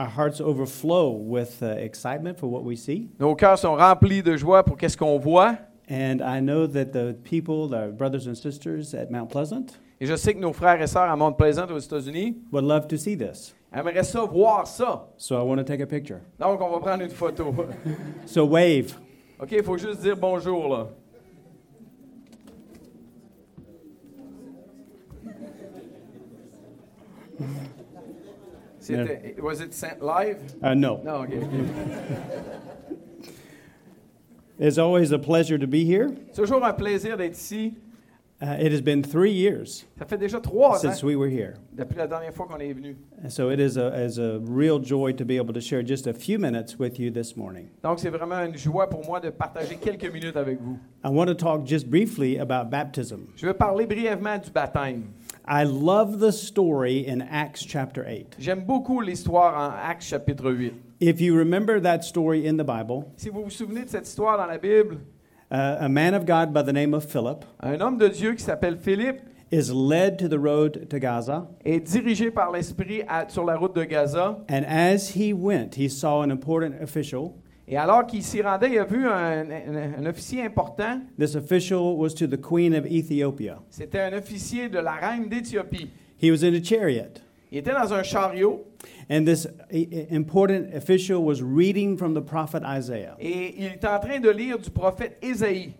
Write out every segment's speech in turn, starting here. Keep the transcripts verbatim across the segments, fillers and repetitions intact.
Our hearts overflow with uh, excitement for what we see. Nos cœurs sont remplis de joie pour qu'est-ce qu'on voit. And I know that the people, the brothers and sisters at Mount Pleasant, Et je sais que nos frères et sœurs à Mount Pleasant aux États-Unis would love to see this. aimeraient ça, voir ça. So I want to take a picture. Donc, on va prendre une photo. So wave. OK, il faut juste dire bonjour, là. C'était, was it sent live? Uh, no. Non, OK. It's always a pleasure to be here. C'est toujours un plaisir d'être ici. Uh, it has been three years Ça fait déjà trois ans since we were here. depuis la dernière fois qu'on est venu. And so it is a, is a real joy to be able to share just a few minutes with you this morning. Donc, c'est vraiment une joie pour moi de partager quelques minutes avec vous. I want to talk just briefly about baptism. Je vais parler brièvement du baptême. I love the story in Acts chapter eight. J'aime beaucoup l'histoire en Actes chapitre huit. If you remember that story in the Bible, Si vous vous souvenez de cette histoire dans la Bible, uh, a man of God by the name of Philip un homme de Dieu qui s'appelle Philippe is led to the road to Gaza. est dirigé par l'Esprit à- sur la route de Gaza. And as he went, he saw an important official. Et alors qu'il s'y rendait, il a vu un, un- un officier important. This official was to the queen of Ethiopia. C'était un officier de la reine d'Éthiopie. He was in a chariot. Il était dans un chariot And this i- i- important official was reading from the prophet Isaiah. et il était en train de lire du prophète Ésaïe.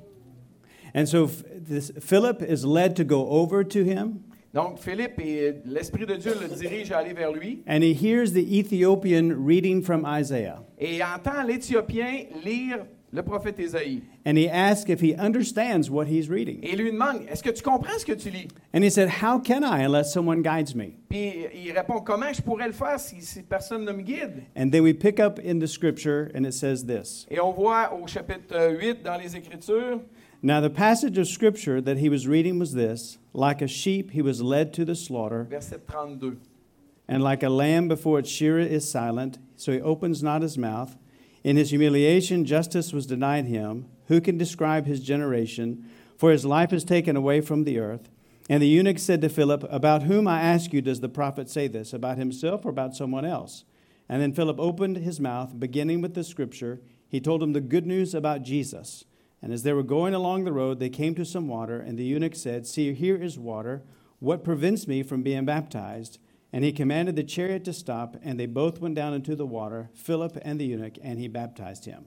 And so f- this Philip is led to go over to him, Donc Philippe, et l'Esprit de Dieu le dirige à aller vers lui and he hears the Ethiopian reading from Isaiah. et il entend l'Éthiopien lire le prophète Ésaïe. And he asks if he understands what he's reading. Et il lui demande, est-ce que tu comprends ce que tu lis? And he said, "How can I unless someone guides me?" Puis il répond, comment je pourrais le faire si, si personne ne me guide? And then we pick up in the scripture, and it says this. Et on voit au chapitre huit dans les Écritures, Now the passage of scripture that he was reading was this: like a sheep he was led to the slaughter, verset trente-deux. and like a lamb before its shearer is silent, so he opens not his mouth. In his humiliation justice was denied him. Who can describe his generation? For his life is taken away from the earth. And the eunuch said to Philip, "About whom, I ask you, does the prophet say this? About himself or about someone else?" And then Philip opened his mouth, beginning with the scripture. He told him the good news about Jesus. And as they were going along the road, they came to some water, and the eunuch said, "See, here is water. What prevents me from being baptized?" And he commanded the chariot to stop, and they both went down into the water, Philip and the eunuch, and he baptized him.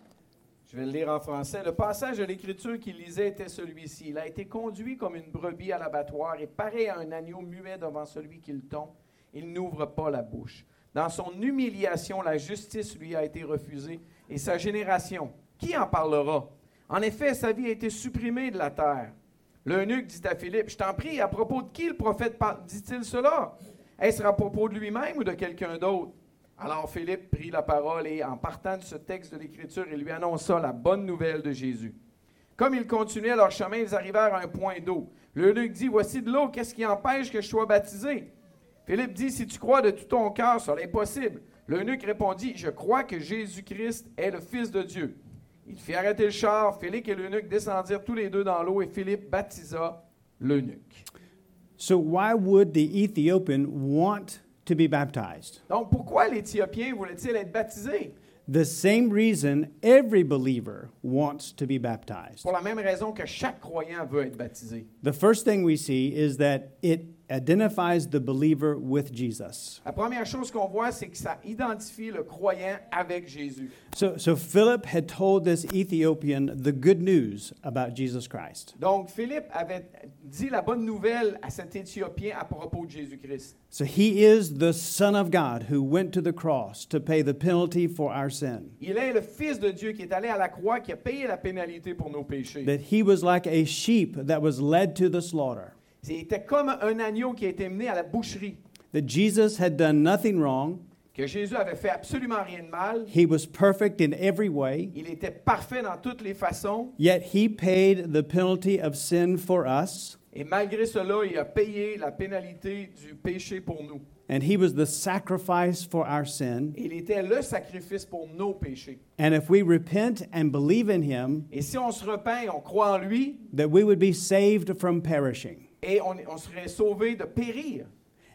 Je vais le lire en français. Le passage de l'Écriture qu'il lisait était celui-ci. Il a été conduit comme une brebis à l'abattoir et pareil à un agneau muet devant celui qui le tond. Il n'ouvre pas la bouche. Dans son humiliation, la justice lui a été refusée. Et sa génération, qui en parlera? En effet, sa vie a été supprimée de la terre. L'eunuque dit à Philippe, « Je t'en prie, à propos de qui le prophète parle- dit-il cela? Est-ce à propos de lui-même ou de quelqu'un d'autre? » Alors Philippe prit la parole et, en partant de ce texte de l'Écriture, il lui annonça la bonne nouvelle de Jésus. Comme ils continuaient leur chemin, ils arrivèrent à un point d'eau. L'eunuque dit, « Voici de l'eau, qu'est-ce qui empêche que je sois baptisé? » Philippe dit, « Si tu crois de tout ton cœur, cela est possible. » L'eunuque répondit, « Je crois que Jésus-Christ est le Fils de Dieu. » Il fit arrêter le char, Philippe et l'eunuque descendirent tous les deux dans l'eau et Philippe baptisa l'eunuque. So why would the Ethiopian want to be baptized? Donc, pourquoi l'Éthiopien voulait-il être baptisé? The same reason every believer wants to be baptized. Pour la même raison que chaque croyant veut être baptisé. The first thing we see is that it identifies the believer with Jesus. La première chose qu'on voit, c'est que ça identifie le croyant avec Jésus. So, so Philip had told this Ethiopian the good news about Jesus Christ. Donc, Philippe avait dit la bonne nouvelle à cet Éthiopien à propos de Jésus-Christ. So he is the Son of God who went to the cross to pay the penalty for our sin. Il est le Fils de Dieu qui est allé à la croix, qui a payé la pénalité pour nos péchés. That he was like a sheep that was led to the slaughter. C'était comme un agneau qui a été mené à la boucherie. That Jesus had done nothing wrong. Que Jésus avait fait absolument rien de mal. He was perfect in every way. Il était parfait dans toutes les façons. Yet he paid the penalty of sin for us. Et malgré cela, il a payé la pénalité du péché pour nous. And he was the sacrifice for our sin. Il était le sacrifice pour nos péchés. And if we repent and believe in him, Et si on se repent et on croit en lui, that we would be saved from perishing. et on, on serait sauvé de périr.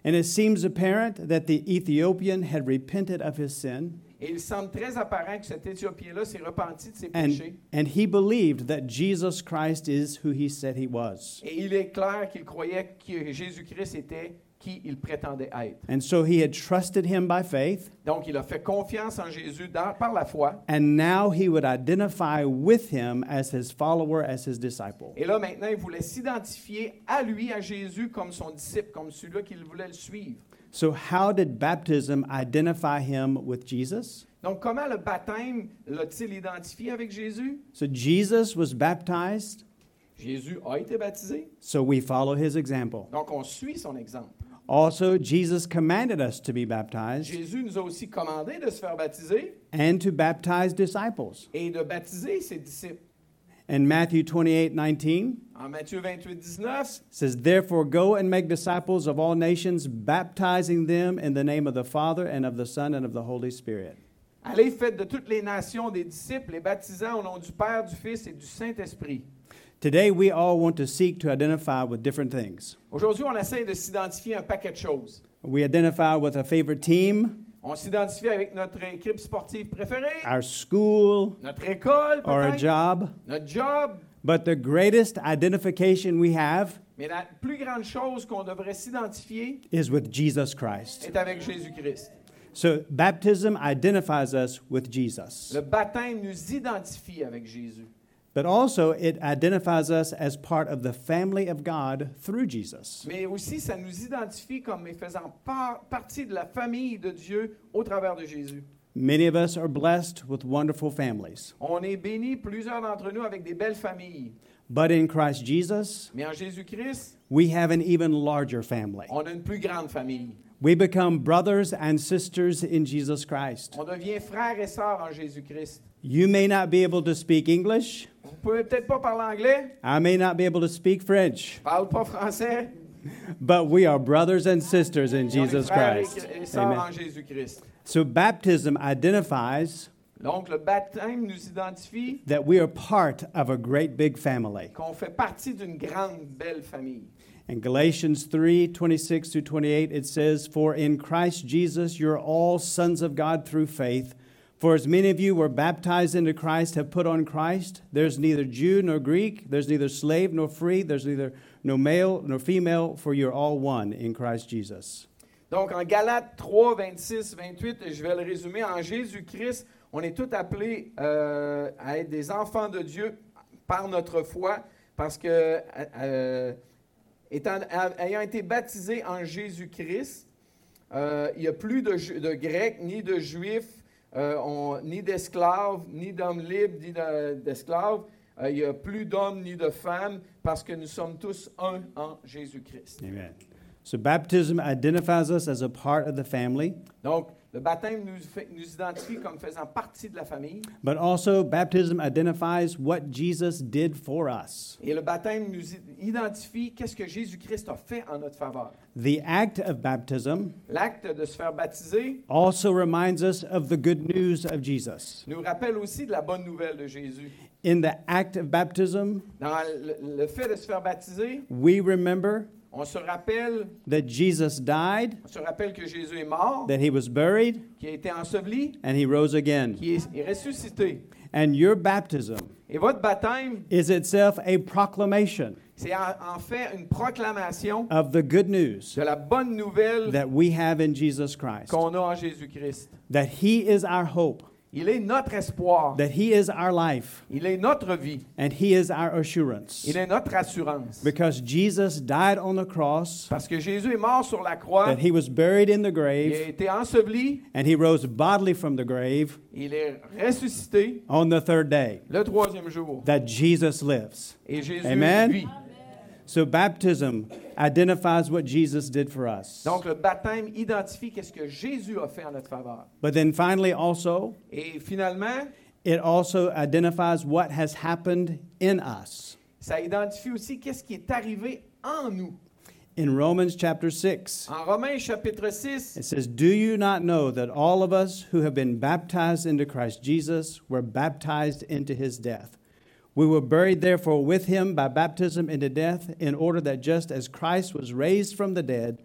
And it seems apparent that the Ethiopian had repented of his sin, Et il semble très apparent que cet Éthiopien-là s'est repenti de ses and, péchés. and he believed that Jesus Christ is who he said he was. Et il est clair qu'il croyait que Jésus-Christ était qui il prétendait être. And so he had trusted him by faith, Donc, il a fait confiance en Jésus dans- par la foi. and now he would identify with him as his follower, as his disciple. Et là, maintenant, il voulait s'identifier à lui, à Jésus, comme son disciple, comme celui-là qu'il voulait le suivre. So how did baptism identify him with Jesus? Donc, comment le baptême l'a-t-il identifié avec Jésus? So Jesus was baptized, Jésus a été baptisé. so we follow his example. Donc, on suit son exemple. Also, Jesus commanded us to be baptized Jésus nous a aussi commandé de se faire baptiser and to baptize disciples. et de baptiser ses disciples. And Matthew twenty-eight nineteen En Matthieu vingt-huit, dix-neuf, says, "Therefore go and make disciples of all nations, baptizing them in the name of the Father and of the Son and of the Holy Spirit." allez, faites de toutes les nations des disciples, les baptisant au nom du Père, du Fils et du Saint-Esprit. Today, we all want to seek to identify with different things. Aujourd'hui, on essaie de s'identifier à un paquet de choses. We identify with a favorite team, On s'identifie avec notre équipe sportive préférée, our school, notre école, or a peut-être, job. notre job. But the greatest identification we have Mais la plus grande chose qu'on devrait s'identifier is with Jesus Christ. est avec Jésus-Christ. So baptism identifies us with Jesus. Le baptême nous identifie avec Jésus. But also it identifies us as part of the family of God through Jesus. Mais aussi, ça nous identifie comme faisant par- partie de la famille de Dieu au travers de Jésus. Many of us are blessed with wonderful families. On est bénis, plusieurs d'entre nous, avec des belles familles. But in Christ Jesus, Mais en Jésus-Christ, we have an even larger family. on a une plus grande famille. We become brothers and sisters in Jesus Christ. On devient frères et sœurs en Jésus-Christ. You may not be able to speak English. Vous pouvez peut-être pas parler anglais, I may not be able to speak French. parle pas français, But we are brothers and sisters in mais on est Jesus frères Christ. et sœurs Amen. en Jésus-Christ. So baptism identifies Donc, le baptême nous identifie that we are part of a great big family. qu'on fait partie d'une grande, belle famille. In Galatians three twenty-six through twenty-eight, it says, "For in Christ Jesus you're all sons of God through faith. For as many of you were baptized into Christ have put on Christ. There's neither Jew nor Greek, there's neither slave nor free, there's neither no male nor female, for you're all one in Christ Jesus." Donc, en Galates trois, vingt-six, vingt-huit, je vais le résumer, en Jésus-Christ, on est tous appelés euh, à être des enfants de Dieu par notre foi, parce que, euh, étant, ayant été baptisés en Jésus-Christ, euh, il n'y a plus de, de Grecs, ni de Juifs, euh, on, ni d'esclaves, ni d'hommes libres, ni de, d'esclaves. Euh, il n'y a plus d'hommes ni de femmes, parce que nous sommes tous un en Jésus-Christ. Amen. So baptism identifies us as a part of the family, Donc, le baptême nous, fait, nous identifie comme faisant partie de la famille. but also baptism identifies what Jesus did for us. Et le baptême nous identifie qu'est-ce que Jésus-Christ a fait en notre faveur. The act of baptism L'acte de se faire baptiser also reminds us of the good news of Jesus. nous rappelle aussi de la bonne nouvelle de Jésus. In the act of baptism, Dans le, le fait de se faire baptiser, we remember on se rappelle, that Jesus died, on se rappelle que Jésus est mort, that he was buried, qu'il a été enseveli, and he rose again. qu'il est, est ressuscité. And your baptism Et votre baptême, is itself a proclamation c'est en, en fait une proclamation of the good news de la bonne nouvelle that we have in Jesus Christ, qu'on a en Jésus-Christ. that he is our hope, Il est notre espoir. that he is our life, Il est notre vie. and he is our assurance. Il est notre assurance. Because Jesus died on the cross, Parce que Jésus est mort sur la croix, that he was buried in the il a grave, été enseveli, and he rose bodily from the grave il est ressuscité on the third day, le troisième jour. that Jesus lives. Et Jésus Amen. vit. So baptism identifies what Jesus did for us. Donc le baptême identifie qu'est-ce que Jésus a fait en notre faveur. But then finally also, Et finalement, it also identifies what has happened in us. ça identifie aussi qu'est-ce qui est arrivé en nous. In Romans chapter six, En Romains chapitre six, it says, "Do you not know that all of us who have been baptized into Christ Jesus were baptized into his death? We were buried therefore with him by baptism into death, in order that just as Christ was raised from the dead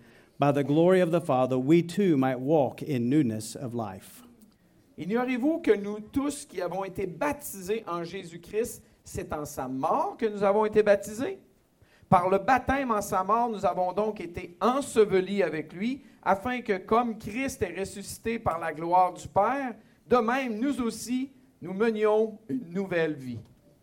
by the glory of the Father, we too might walk in newness of life. Ignorez-vous que nous tous qui avons été baptisés en Jésus-Christ, c'est en sa mort que nous avons été baptisés? Par le baptême en sa mort, nous avons donc été ensevelis avec lui, afin que, comme Christ est ressuscité par la gloire du Père, de même, nous aussi, nous menions une nouvelle vie.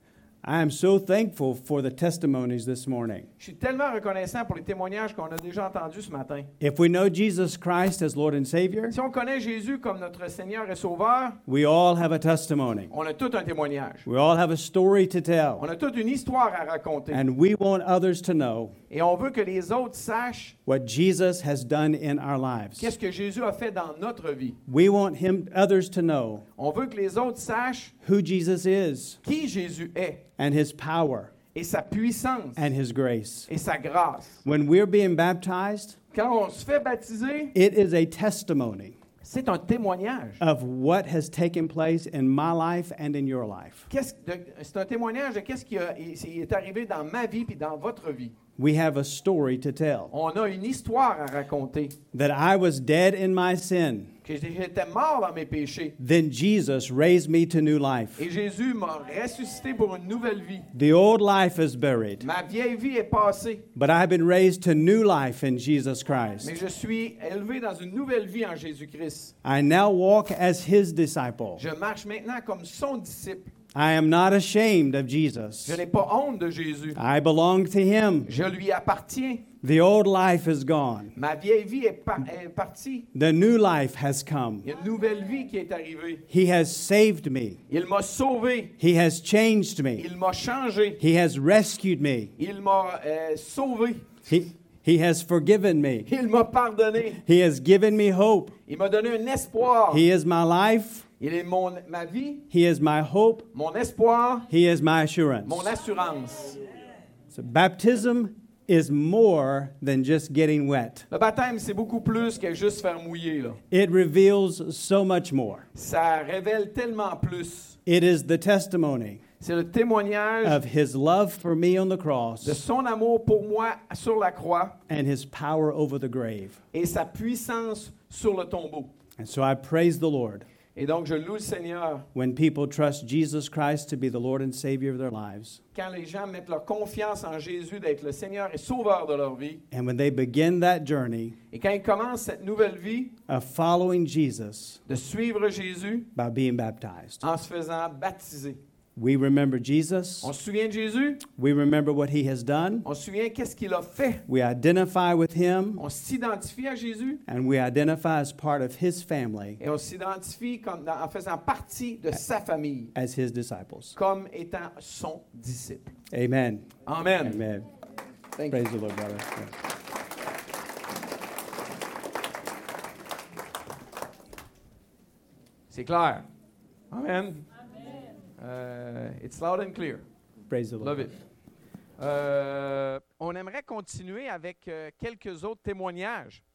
I am so thankful for the testimonies this morning. Je suis tellement reconnaissant pour les témoignages qu'on a déjà entendus ce matin. If we know Jesus Christ as Lord and Savior, Si on connaît Jésus comme notre Seigneur et Sauveur, we all have a testimony. on a tout un témoignage. We all have a story to tell. On a toute une histoire à raconter. And we want others to know Et on veut que les autres sachent what Jesus has done in our lives. qu'est-ce que Jésus a fait dans notre vie. We want him, others to know On veut que les autres sachent who Jesus is qui Jésus est and his power et sa puissance and his grace. et sa grâce. When we're being baptized, Quand on se fait baptiser, it is a testimony c'est un témoignage. of what has taken place in my life and in your life. Qu'est-ce de- c'est un témoignage de qu'est-ce qui a- est est arrivé dans ma vie puis dans votre vie. We have a story to tell. On a une histoire à raconter. That I was dead in my sin. Que j'étais mort dans mes péchés. Then Jesus raised me to new life. Et Jésus m'a ressuscité pour une nouvelle vie. The old life is buried, Ma vieille vie est passée, but I've been raised to new life in Jesus Christ. mais je suis élevé dans une nouvelle vie en Jésus-Christ. I now walk as his disciple. Je marche maintenant comme son disciple. I am not ashamed of Jesus. Je n'ai pas honte de Jésus. I belong to him. Je lui appartiens. The old life is gone. Ma vieille vie est, par- est partie. The new life has come. Il y a une nouvelle vie qui est arrivée. He has saved me. Il m'a sauvé. He has changed me. Il m'a changé. He has rescued me. Il m'a euh, sauvé. He, he has forgiven me. Il m'a pardonné. He has given me hope. Il m'a donné un espoir. He is my life. Il est mon, ma vie, He is my hope. mon espoir, He is my assurance. mon assurance. So baptism is more than just getting wet. Le baptême, c'est beaucoup plus que juste faire mouiller, là. It reveals so much more. Ça révèle tellement plus. It is the testimony C'est le témoignage of his love for me on the de cross son amour pour moi sur la croix and his power over the grave. et sa puissance sur le tombeau. And so I praise the Lord Et donc, je loue le Seigneur when people trust Jesus Christ to be the Lord and Savior of their lives. quand les gens mettent leur confiance en Jésus d'être le Seigneur et Sauveur de leur vie. And when they begin that journey Et quand ils commencent cette nouvelle vie of following Jesus de suivre Jésus by being baptized. en se faisant baptiser. We remember Jesus. On se souvient de Jésus, We remember what he has done. on se souvient qu'est-ce qu'il a fait. We identify with him. On s'identifie à Jésus And we identify as part of his family et on s'identifie comme dans- en faisant partie de sa famille, as his disciples. comme étant son disciple. Amen. Amen. Amen. Thank Praise you. the Lord, brother. Yeah. C'est clair. Amen. Euh, it's loud and clear. Praise the Lord. Love it. Euh, on aimerait continuer avec euh, quelques autres témoignages.